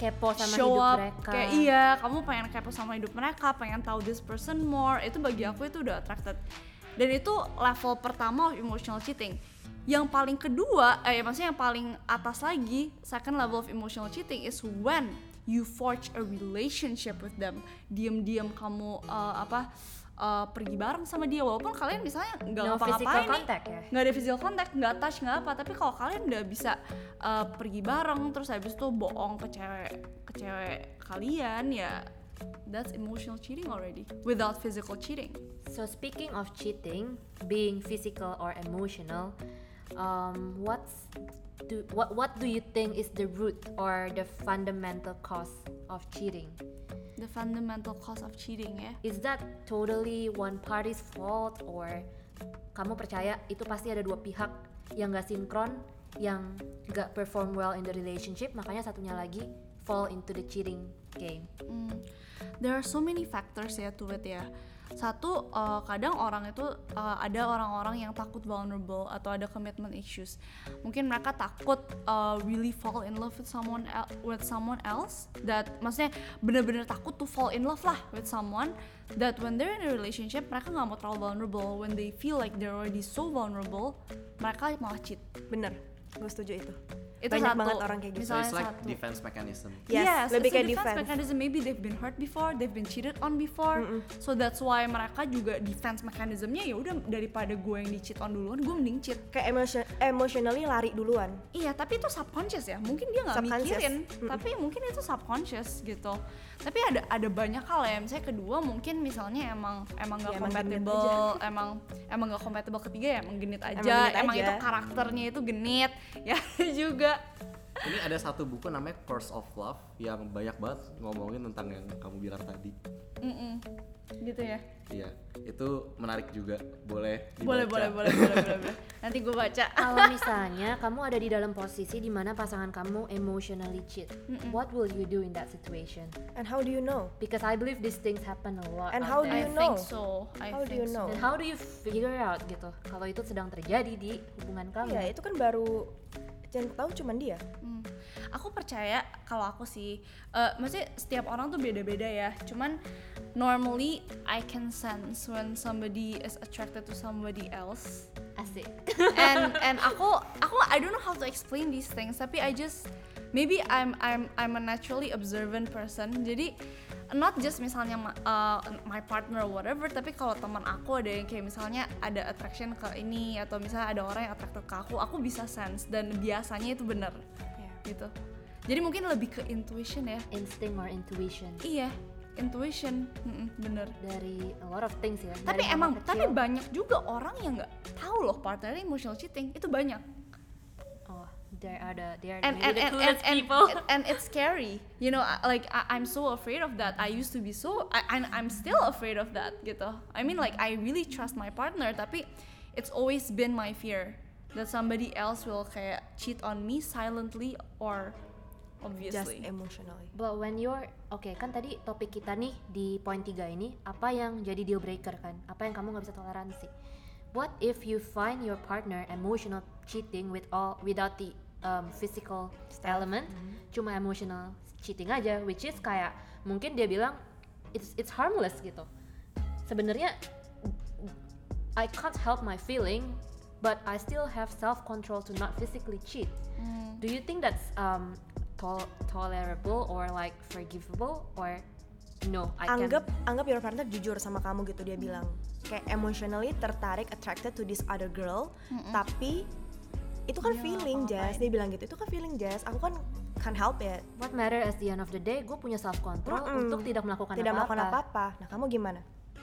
kepo sama show hidup up mereka. kayak iya kamu pengen kepo sama hidup mereka, pengen tahu this person more, itu bagi aku itu udah attracted. Dan itu level pertama of emotional cheating. Yang paling kedua, eh maksudnya yang paling atas lagi, second level of emotional cheating is when you forge a relationship with them. Diam-diam kamu uh, apa uh, pergi bareng sama dia walaupun kalian misalnya nggak No physical ngapa-ngapain nih, contact ya? nggak ada physical contact, nggak touch, nggak apa, tapi kalau kalian udah bisa uh, pergi bareng terus habis itu bohong ke cewek ke cewek kalian, ya that's emotional cheating already without physical cheating. So speaking of cheating, being physical or emotional, um, what's do what what do you think is the root or the fundamental cause of cheating? The fundamental cause of cheating ya. Is that totally one party's fault or kamu percaya itu pasti ada dua pihak yang gak sinkron, yang gak perform well in the relationship, makanya satunya lagi fall into the cheating game? Hmm. There are so many factors ya to it ya. Satu, uh, kadang orang itu uh, ada orang-orang yang takut vulnerable atau ada commitment issues. Mungkin mereka takut uh, really fall in love with someone el- with someone else. That maksudnya bener-bener takut to fall in love lah with someone. That when they're in a relationship mereka nggak mau terlalu vulnerable. When they feel like they're already so vulnerable, mereka malah cheat. Bener, gue setuju itu. Itu Banyak satu. banget orang kayak gitu. So it's like Satu. defense mechanism. Yes, lebih it's a kayak defense, defense. mechanism. Maybe they've been hurt before, they've been cheated on before, Mm-mm. so that's why mereka juga defense mechanismnya ya udah daripada gue yang di cheat on duluan, gue mending cheat. Kayak emotion, emotionally lari duluan. Iya, tapi itu subconscious ya. Mungkin dia nggak Subconscious. mikirin, Mm-mm. tapi mungkin itu subconscious gitu. Tapi ada ada banyak hal ya. Misalnya kedua mungkin misalnya emang emang nggak Ya, emang genit compatible, emang emang nggak compatible. Ketiga ya emang genit aja. Emang genit Emang aja. itu karakternya itu genit ya juga. Ini ada satu buku namanya Curse of Love yang banyak banget ngomongin tentang yang kamu bilang tadi. Mm-mm. Gitu ya. Iya, itu menarik juga. Boleh dibaca. Boleh boleh boleh boleh boleh. boleh. Nanti gue baca. Kalau misalnya kamu ada di dalam posisi di mana pasangan kamu emotionally cheat, Mm-mm. what will you do in that situation? And how do you know? Because I believe these things happen a lot And out how do there. you I know? think so. I How do think you so. know? Dan how do you figure out gitu kalau itu sedang terjadi di hubungan kamu? Iya, itu kan baru yang tahu cuman dia. Hmm. Aku percaya kalau aku sih, uh, maksudnya setiap orang tuh beda-beda ya. Cuman normally I can sense when somebody is attracted to somebody else. Asik. And and aku aku I don't know how to explain these things. Tapi I just maybe I'm I'm I'm a naturally observant person. Jadi not just misalnya uh, my partner or whatever, tapi kalau teman aku ada yang kayak misalnya ada attraction ke ini atau misalnya ada orang yang attracted ke aku, aku bisa sense dan biasanya itu benar gitu. Jadi mungkin lebih ke intuition ya. Instinct or intuition Iya, intuition, mm-mm, bener. dari a lot of things ya. Tapi Dari hal emang, kecil. tapi banyak juga orang yang nggak tahu loh partnernya emotional cheating, itu banyak. Oh, there are the there are And maybe and the and, and, clueless and, people. and it's scary, you know. I- Like I, I'm so afraid of that. I used to be so, I, and I'm still afraid of that, gitu. I mean, like I really trust my partner, tapi it's always been my fear that somebody else will kayak cheat on me silently or Just obviously. emotionally. But when you're oke okay, kan tadi topik kita nih di poin tiga ini apa yang jadi deal breaker kan? Apa yang kamu nggak bisa toleransi? What if you find your partner emotional cheating with all without the um, physical element, cuma emotional cheating aja, which is kayak mungkin dia bilang it's it's harmless gitu. Sebenarnya I can't help my feeling, but I still have self control to not physically cheat. Mm. Do you think that's um tol- tolerable or like forgivable or no? I Anggap can. anggap your partner jujur sama kamu gitu, dia bilang kayak emotionally tertarik, attracted to this other girl, tapi itu kan Dia feeling, ngapa-ngapain. Jazz. Dia bilang gitu, itu kan feeling, Jazz. Aku kan can't help it. What matter at the end of the day, gue punya self control Mm-mm. untuk tidak melakukan Tidak apa-apa. melakukan apa-apa. Nah, kamu gimana?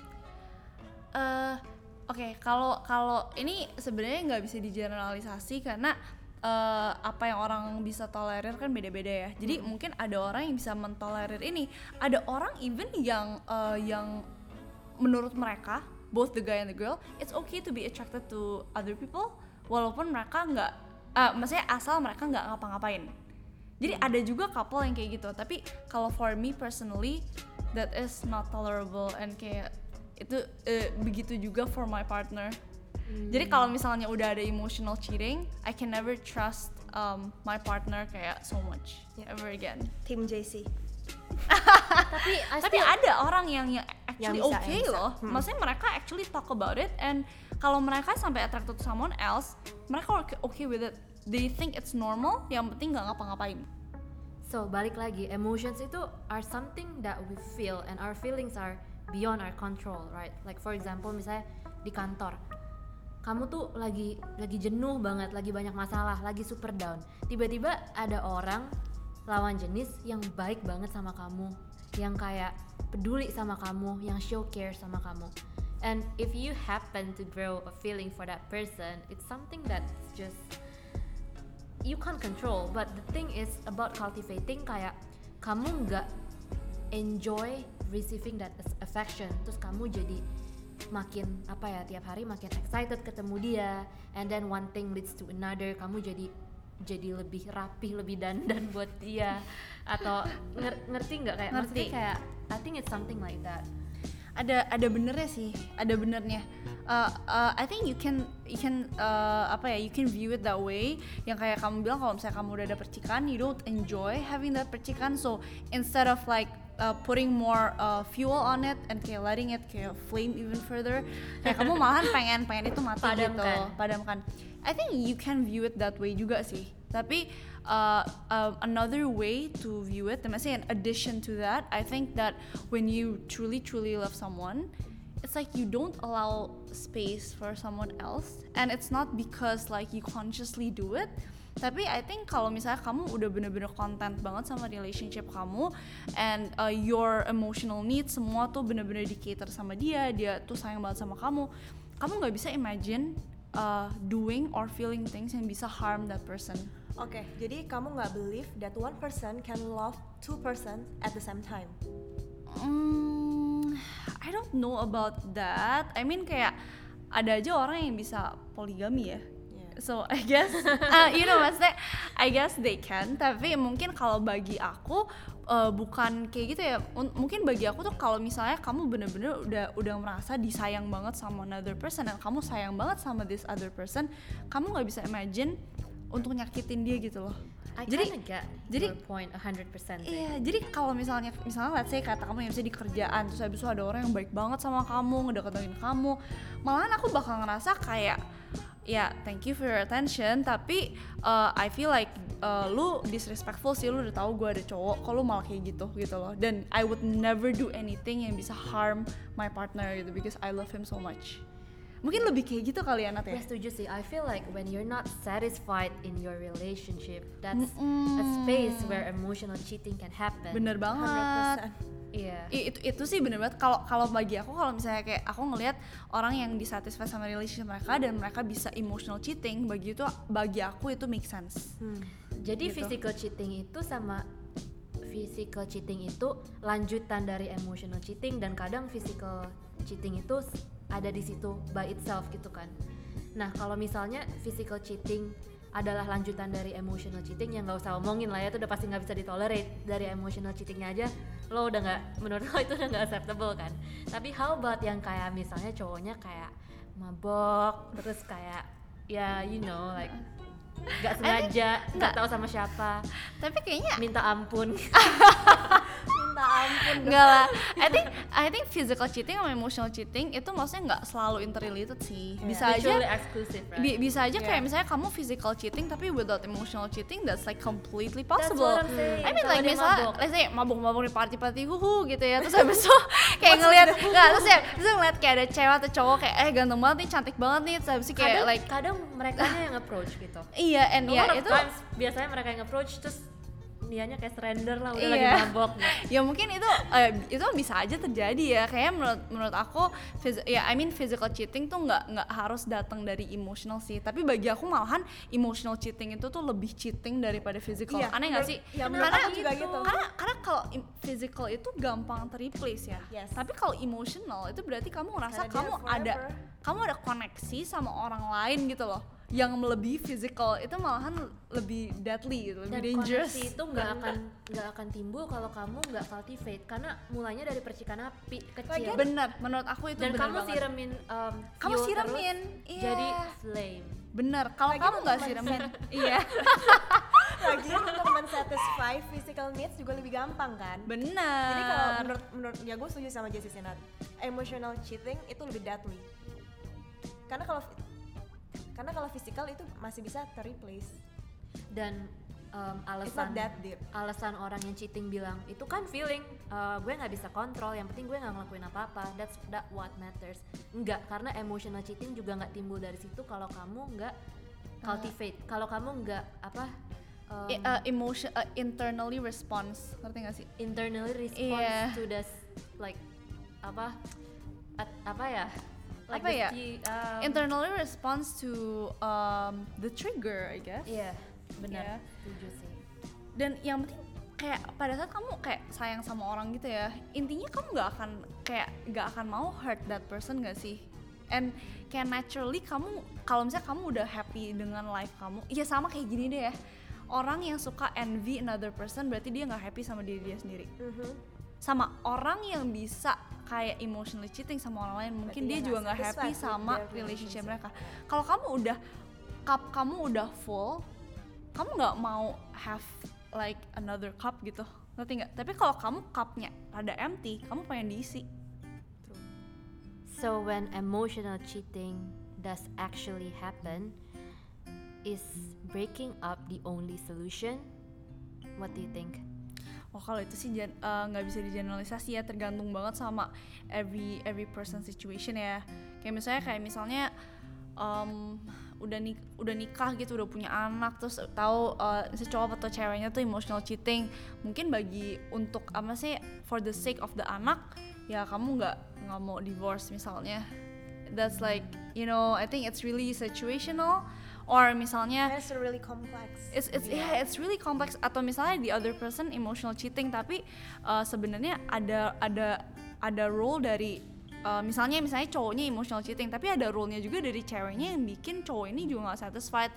Eh, Oke, kalau kalau ini sebenarnya nggak bisa digeneralisasi karena eh, apa yang orang bisa tolerir kan beda-beda ya. Jadi mungkin ada orang yang bisa mentolerir ini, ada orang even yang eh, yang menurut mereka both the guy and the girl, it's okay to be attracted to other people walaupun mereka nggak, eh, maksudnya asal mereka nggak ngapa-ngapain. Jadi ada juga couple yang kayak gitu. Tapi kalau for me personally, that is not tolerable and kayak itu eh, begitu juga for my partner. Jadi kalau misalnya udah ada emotional cheating, I can never trust um, my partner kayak so much Yeah. ever again. Tim J C. Tapi I Tapi still- ada orang yang yang actually Yang bisa, okay yang bisa. loh. Hmm. Maksudnya mereka actually talk about it, and kalau mereka sampai attracted to someone else, mereka okay, okay with it. They think it's normal. Yang penting nggak ngapa-ngapain. So balik lagi, emotions itu are something that we feel and our feelings are beyond our control, right? Like for example, misalnya di kantor, kamu tuh lagi lagi jenuh banget, lagi banyak masalah, lagi super down. Tiba-tiba ada orang lawan jenis yang baik banget sama kamu, yang kayak peduli sama kamu, yang show care sama kamu. And if you happen to grow a feeling for that person, it's something that's just you can't control. But the thing is about cultivating, kayak kamu nggak enjoy receiving that affection, terus kamu jadi makin apa ya, tiap hari makin excited ketemu dia, and then one thing leads to another, kamu jadi jadi lebih rapih, lebih dandan buat dia, atau nger- ngerti nggak kayak Ngerti. maksudnya kayak I think it's something like that. ada ada benernya sih, ada benernya. Uh, uh, I think you can you can uh, apa ya, you can view it that way. Yang kayak kamu bilang, kalau misalnya kamu udah ada percikan, you don't enjoy having that percikan. So instead of like uh, putting more uh, fuel on it and kayak letting it kayak flame even further, kayak kamu malahan pengen pengen itu mati gitu, Padamkan. padamkan. I think you can view it that way juga sih. Tapi uh, uh, another way to view it, maksudnya in addition to that, I think that when you truly truly love someone, it's like you don't allow space for someone else, and it's not because like you consciously do it. Tapi I think kalau misalnya kamu udah bener-bener content banget sama relationship kamu, and uh, your emotional needs semua tuh bener-bener di cater sama dia, dia tuh sayang banget sama kamu, kamu nggak bisa imagine uh, doing or feeling things yang bisa harm that person. Oke, jadi kamu nggak believe that one person can love two person at the same time. Mm, I don't know about that. I mean kayak ada aja orang yang bisa poligami ya. Yeah. So I guess, uh, you know maksudnya, I guess they can. Tapi mungkin kalau bagi aku uh, bukan kayak gitu ya. M- mungkin bagi aku tuh kalau misalnya kamu bener-bener udah udah merasa disayang banget sama another person, dan kamu sayang banget sama this other person, kamu nggak bisa imagine untuk nyakitin dia gitu loh. I Jadi- kinda get jadi- your point one hundred percent. Iya, jadi kalau misalnya misalnya let's say kata kamu yang misalnya di kerjaan, terus habis itu ada orang yang baik banget sama kamu, ngedeketin kamu, malahan aku bakal ngerasa kayak ya thank you for your attention, tapi uh, I feel like uh, lu disrespectful sih, lu udah tahu gue ada cowok, kok lu malah kayak gitu gitu loh. Dan I would never do anything yang bisa harm my partner gitu, because I love him so much. Mungkin lebih kayak gitu kali ya, Nat ya? Gue setuju sih. I feel like when you're not satisfied in your relationship, that's a Mm-mm. space where emotional cheating can happen. Bener one hundred banget. percent. Iya. I- itu itu sih bener banget. Kalau kalau bagi aku, kalau misalnya kayak aku ngelihat orang yang disatisfy sama relationship mereka dan mereka bisa emotional cheating, bagi itu bagi aku itu make sense. Hmm. Jadi Gitu. physical cheating itu sama physical cheating itu lanjutan dari emotional cheating, dan kadang physical cheating itu s- ada di situ by itself gitu kan. Nah kalau misalnya physical cheating adalah lanjutan dari emotional cheating, yang nggak usah omongin lah ya, itu udah pasti nggak bisa ditolerate. Dari emotional cheatingnya aja lo udah nggak, menurut lo itu udah nggak acceptable kan. Tapi how about yang kayak misalnya cowoknya kayak mabok, terus kayak ya you know like nggak sengaja, nggak tahu sama siapa, Tapi kayaknya minta ampun. Minta ampun. enggak lah. I think I think physical cheating sama emotional cheating itu maksudnya nggak selalu interrelated sih. Bisa aja Mutually exclusive, right? bi- bisa aja kayak Yeah. misalnya kamu physical cheating tapi without emotional cheating, that's like completely That's possible. what I'm saying. I mean Kalau like dia misalnya mabok. let's say mabuk-mabuk di party-party huhu gitu ya, terus habis itu kayak ngelihat nggak, terus ya terus ngeliat kayak ada cewek atau cowok kayak eh ganteng banget nih, cantik banget nih, terus habis itu kayak kadang, like kadang mereka yang approach gitu. iya, and A ya lot of itu times biasanya mereka yang approach, terus dianya kayak surrender lah, udah Iya. lagi mabok gitu. ya mungkin itu eh, itu bisa aja terjadi ya. Kayak menurut menurut aku phys- ya I mean physical cheating tuh nggak nggak harus datang dari emotional sih, tapi bagi aku malahan emotional cheating itu tuh lebih cheating daripada physical. Iya, Aneh nggak menurut- sih? ya, menurut karena aku juga gitu. karena karena kalau im- physical itu gampang terreplace ya. Yes. Tapi kalau emotional itu berarti kamu ngerasa Karena dia kamu ada forever. kamu ada koneksi sama orang lain gitu loh, yang melebihi physical. Itu malahan lebih deadly gitu, Dan lebih dangerous. koneksi itu nggak akan nggak akan timbul kalau kamu nggak cultivate, karena mulainya dari percikan api kecil. Lagian Bener, menurut aku itu Dan bener kamu banget. siramin um, Kamu fuel siramin, terus, iya. jadi flame. Bener, kalau Lagi kamu nggak untuk sih men- Remin? Iya. Lagi untuk men-satisfy physical needs juga lebih gampang kan. Bener. Jadi kalau menurut menurut ya gue setuju sama Jessie Sinat, emotional cheating itu lebih deadly. Karena kalau karena kalau physical itu masih bisa ter-replace. Dan um, It's not alasan that deep. alasan orang yang cheating bilang itu kan feeling, uh, gue nggak bisa kontrol, yang penting gue nggak ngelakuin apa-apa, that's that what matters. Enggak, karena emotional cheating juga nggak timbul dari situ kalau kamu nggak cultivate, kalau kamu nggak apa um, I- uh, emotion uh, internally response, ngerti gak sih? internally response Iya. to this like apa at, apa ya like Apa this ya? the, um, Internally response to um, the trigger, I guess. iya benar, Iya. setuju sih. Dan yang penting kayak pada saat kamu kayak sayang sama orang gitu ya, intinya kamu nggak akan kayak nggak akan mau hurt that person gak sih? And kayak naturally kamu kalau misalnya kamu udah happy dengan life kamu, ya sama kayak gini deh ya. Orang yang suka envy another person berarti dia nggak happy sama diri dia sendiri. Mhm. Sama orang yang bisa kayak emotionally cheating sama orang lain, mungkin Berarti dia dia juga nggak nggak happy satisfied with sama their relationship relationship. mereka. Kalau kamu udah cup kamu udah full, kamu nggak mau have like another cup gitu, ngerti nggak? Tapi kalau kamu cupnya ada empty, kamu pengen diisi. So when emotional cheating does actually happen, is breaking up the only solution? What do you think? Oh kalau itu sih jan- eh, nggak bisa digeneralisasi ya, tergantung banget sama every every person situation ya. Kayak misalnya kayak misalnya um, udah nik udah nikah gitu, udah punya anak, terus tahu uh, si cowok atau ceweknya tuh emotional cheating, mungkin bagi untuk apa sih for the sake of the anak ya kamu nggak nggak mau divorce misalnya. That's like you know I think it's really situational. Or misalnya That's really complex. It's it's yeah, it's really complex. Atau misalnya the other person emotional cheating tapi uh, sebenarnya ada ada ada role dari uh, misalnya misalnya cowoknya emotional cheating tapi ada role-nya juga dari ceweknya yang bikin cowok ini juga nggak satisfied.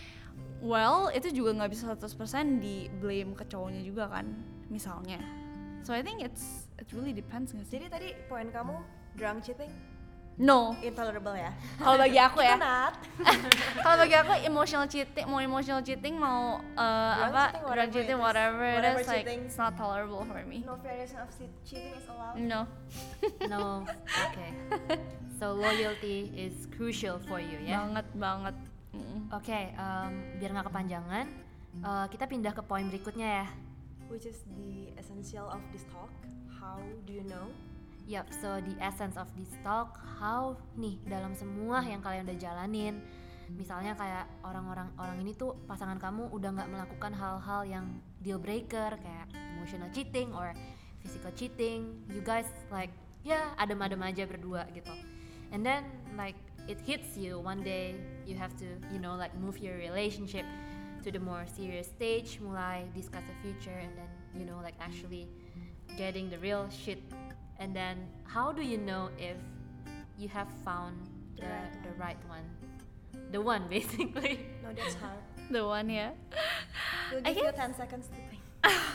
Well itu juga nggak bisa seratus persen di blame ke cowoknya juga kan misalnya. So I think it's it really depends nggak sih? Jadi tadi poin kamu drunk cheating No. intolerable ya. Kalau bagi aku ya. Itu not. Kalau bagi aku emotional cheating, mau emotional cheating, mau uh, Drunk apa, cheating, drunk whatever cheating, it is. whatever it Whatever is, like cheating. it's not tolerable for me. No variation of che- cheating is allowed. No. No, okay. So loyalty is crucial for you ya. Banget banget. Mm. Oke, um, biar nggak kepanjangan, uh, kita pindah ke poin berikutnya ya. Which is the essential of this talk. How do you know? Yup, so the essence of this talk, how nih dalam semua yang kalian udah jalanin, misalnya kayak orang-orang orang ini tuh pasangan kamu udah nggak melakukan hal-hal yang deal breaker kayak emotional cheating or physical cheating, you guys like ya adem-adem aja berdua gitu, and then like it hits you one day, you have to you know like move your relationship to the more serious stage, mulai discuss the future, and then you know like actually getting the real shit. And then how do you know if you have found the the right one, the one basically? No, that's hard. The one ya. We'll I give you guess- ten seconds to think.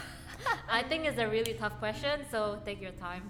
I think it's a really tough question, so take your time.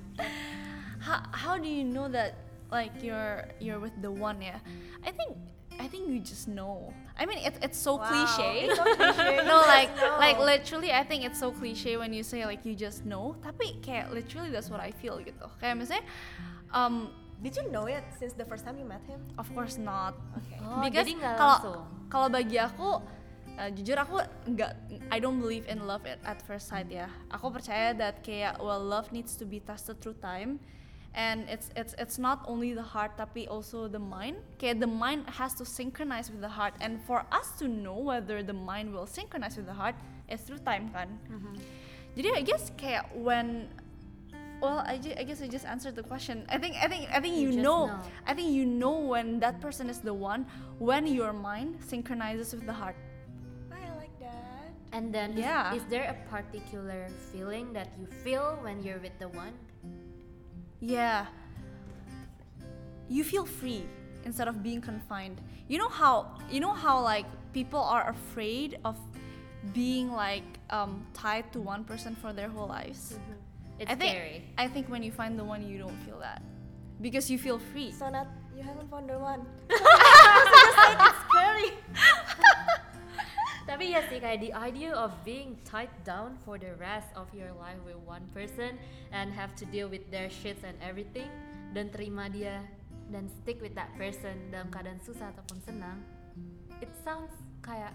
How how do you know that like you're you're with the one ya? I think I think you just know. I mean it's it's so Wow, cliche. it's so cliche. No, You like just know. like literally I think it's so cliche when you say like you just know. Tapi kayak literally that's what I feel gitu. Kayak misalnya, um, Did you know it since the first time you met him? of course not. Okay. Oh, Because jadi nggak kalau langsung. kalau bagi aku uh, jujur aku nggak I don't believe in love at, at first sight ya. Aku percaya that kayak well love needs to be tested through time. And it's it's it's not only the heart tapi also the mind. Kayak the mind has to synchronize with the heart, and for us to know whether the mind will synchronize with the heart is through time kan. Jadi I guess kayak when well I, ju- I guess I just answered the question. I think I think I think You you, just know, know. I think you know when that person is the one when your mind synchronizes with the heart. I like that. And then Yeah. is, is there a particular feeling that you feel when you're with the one? Yeah. You feel free instead of being confined. You know how you know how like people are afraid of being like um, tied to one person for their whole lives. It's I think scary. I think when you find the one you don't feel that because you feel free. So not you haven't found the one. It's scary. kayak the idea of being tied down for the rest of your life with one person and have to deal with their shits and everything, dan terima dia dan stick with that person dalam keadaan susah ataupun senang, it sounds kayak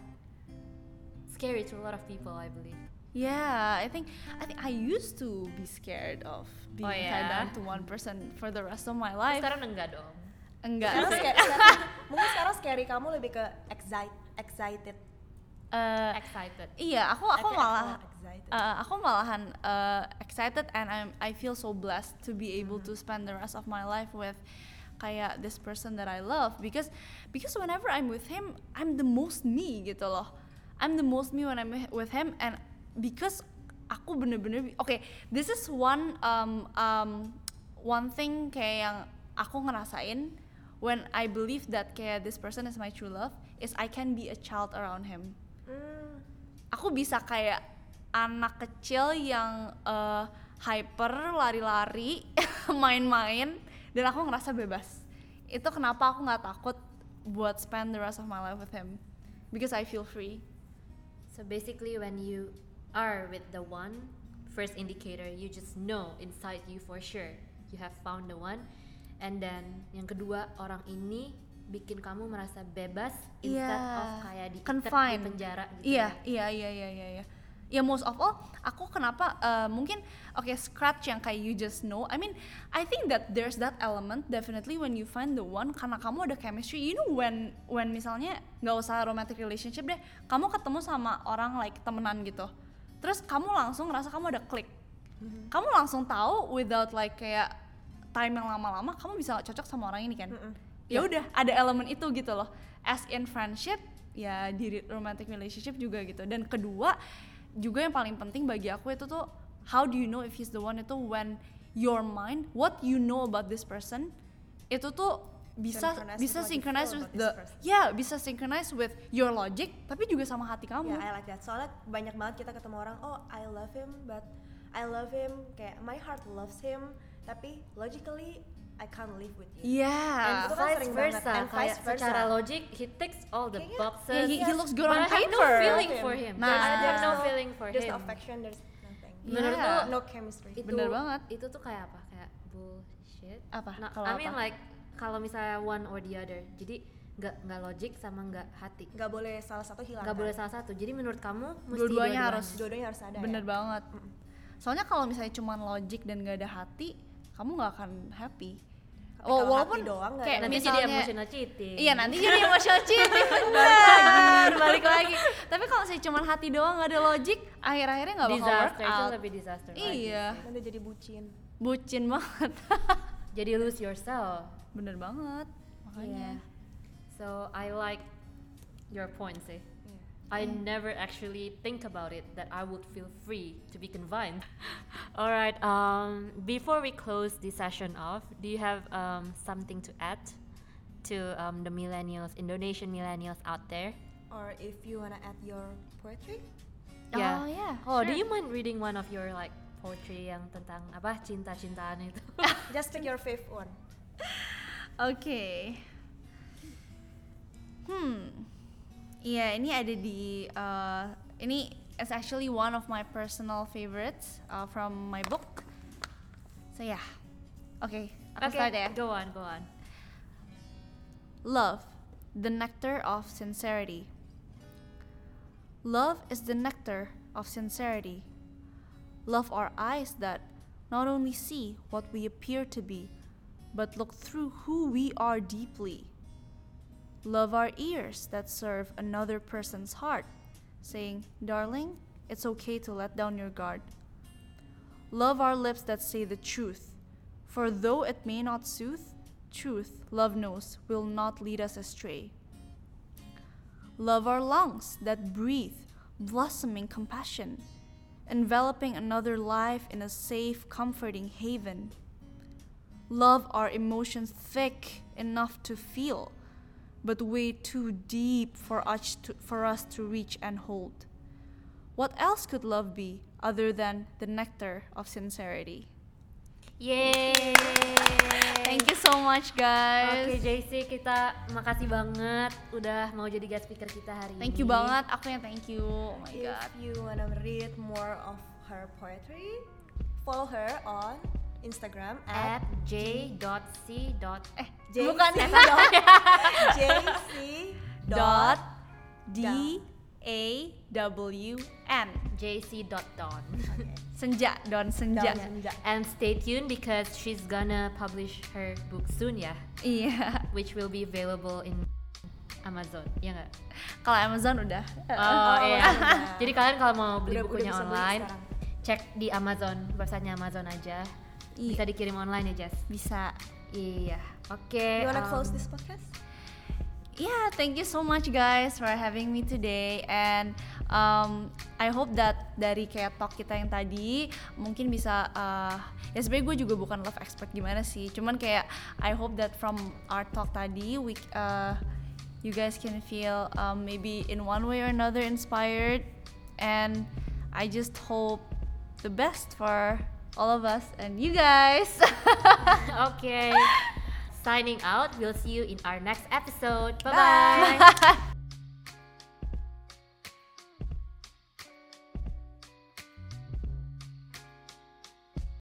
scary to a lot of people, I believe. Yeah, I think I think I used to be scared of being Oh, yeah? tied down to one person for the rest of my life. Sekarang enggak dong. Enggak. Sekarang scary, sekarang- mungkin sekarang scary kamu lebih ke excite, excited. Eh, Excited. iya, aku aku Aku- malah aku excited. uh, aku malahan uh, excited and I'm I feel so blessed to be able to spend the rest of my life with kayak this person that I love because because whenever I'm with him I'm the most me gitu loh. I'm the most me when I'm with him and because aku bener-bener oke okay, this is one um, um, one thing kayak yang aku ngerasain when I believe that kayak this person is my true love is I can be a child around him. Hmm, Aku bisa kayak anak kecil yang uh, hyper lari-lari main-main dan aku ngerasa bebas. Itu kenapa aku nggak takut buat spend the rest of my life with him because I feel free. So basically when you are with the one, first indicator you just know inside you for sure you have found the one, and then yang kedua orang ini bikin kamu merasa bebas instead Yeah. of kayak diikat di Confined. penjara gitu. Iya, ya. iya, iya, iya, iya, iya. Ya most of all, aku kenapa uh, mungkin oke okay, scratch yang kayak you just know. I mean, I think that there's that element definitely when you find the one karena kamu ada chemistry. You know when when misalnya nggak usah romantic relationship deh, kamu ketemu sama orang like temenan gitu. Terus kamu langsung ngerasa kamu ada klik. Mm-hmm. Kamu langsung tahu without like kayak time yang lama-lama kamu bisa cocok sama orang ini kan. Ya udah ada elemen itu gitu loh. As in friendship, ya di romantic relationship juga gitu. Dan kedua juga yang paling penting bagi aku itu tuh how do you know if he's the one itu when your mind what you know about this person itu tuh bisa Synchronize bisa with what you synchronize feel with about the this person. yeah bisa synchronize with your logic tapi juga sama hati kamu. Ya, I like that. Soalnya banyak banget kita ketemu orang, oh I love him, but I love him, kayak my heart loves him, tapi logically I can't live with you. Yeah. And itu kan Vice sering banget, versa, and kayak vice versa. secara logic he ticks all the Kayaknya- boxes. Yeah, he, he looks good but on I have no paper. feeling for him. Nah. There's, there's There's no feeling for There's him. no affection, there's nothing. Menurut Yeah. lu No chemistry. itu Bener banget. itu tuh kayak apa? Kayak bullshit. Apa? Nah, Kalau I mean apa? like kalau misalnya one or the other. Jadi nggak nggak logik sama nggak hati. Nggak boleh salah satu hilang. Nggak kan? boleh salah satu. Jadi menurut kamu mesti Dua-duanya harus. Dua-duanya harus ada. Bener ya? banget. Soalnya kalau misalnya cuma logic dan gak ada hati, kamu nggak akan happy. Tapi kalau walaupun hati doang nggak kayak ada. Nanti misalnya, jadi emotional cheating. Iya nanti jadi emotional cheating bener, balik lagi. Tapi kalau misalnya cuma hati doang gak ada logic, akhir-akhirnya nggak bakal work Disaster itu out. lebih disaster. lagi Iya, sih. Nanti jadi bucin. bucin banget. Jadi lose yourself. Bener banget, makanya. Yeah. So I like your point sih. Iya. I never actually think about it that I would feel free to be confined. Alright, um, before we close this session off, do you have um, something to add to um, the millennials, Indonesian millennials out there? Or if you wanna add your poetry, Oh yeah, Oh, do sure. you mind reading one of your like poetry yang tentang apa cinta-cintaan itu? just pick your fifth one. Oke. Hmm. Iya, ini ada di uh, ini is actually one of my personal favorites uh, from my book. So yeah. Oke, aku Okay, start ya. go on, go on. Love, the nectar of sincerity. Love is the nectar of sincerity. Love our eyes that not only see what we appear to be, but look through who we are deeply. Love our ears that serve another person's heart, saying, "Darling, it's okay to let down your guard." Love our lips that say the truth, for though it may not soothe, truth, love knows, will not lead us astray. Love our lungs that breathe, blossoming compassion, enveloping another life in a safe, comforting haven. Love our emotions thick enough to feel, but way too deep for us to, for us to reach and hold. What else could love be other than the nectar of sincerity? Yeay. Thank you so much guys. Oke J C, kita makasih banget udah mau jadi guest speaker kita hari Thank ini. you banget, aku yang thank you. Oh my If god. you wanna read more of her poetry, follow her on Instagram At at j.c. Eh, J- bukan jc dot dot D A W N. jc.don. Senja, Don Senja. Don Senja. And stay tuned because she's gonna publish her book soon ya, Iya. which will be available in Amazon, ya nggak? Kalau Amazon udah. Oh iya. udah. Jadi kalian kalau mau beli Udah- udah bukunya bisa beli online, sekarang. cek di Amazon, websitenya Amazon aja. Iya. Bisa dikirim online ya, Jess? Bisa. Iya. Oke. You wanna um, close this podcast? Yeah, thank you so much guys for having me today, and um, I hope that dari kayak talk kita yang tadi mungkin bisa uh, ya sebenarnya gue juga bukan love expert gimana sih, cuman kayak I hope that from our talk tadi we uh, you guys can feel um, maybe in one way or another inspired, and I just hope the best for all of us and you guys. Okay. Signing out. We'll see you in our next episode. Bye Bye. bye.